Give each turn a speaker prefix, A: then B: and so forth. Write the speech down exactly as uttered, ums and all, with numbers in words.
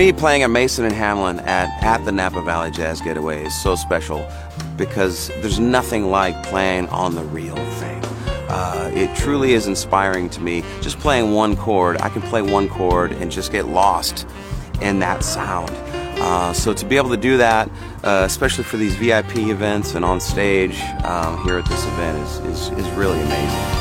A: Me playing at Mason and Hamlin at, at the Napa Valley Jazz Getaway is so special because there's nothing like playing on the real thing. Uh, it truly is inspiring to me. Just playing one chord, I can play one chord and just get lost in that sound. Uh, so to be able to do that, uh, especially for these V I P events and on stage um, here at this event is, is, is really amazing.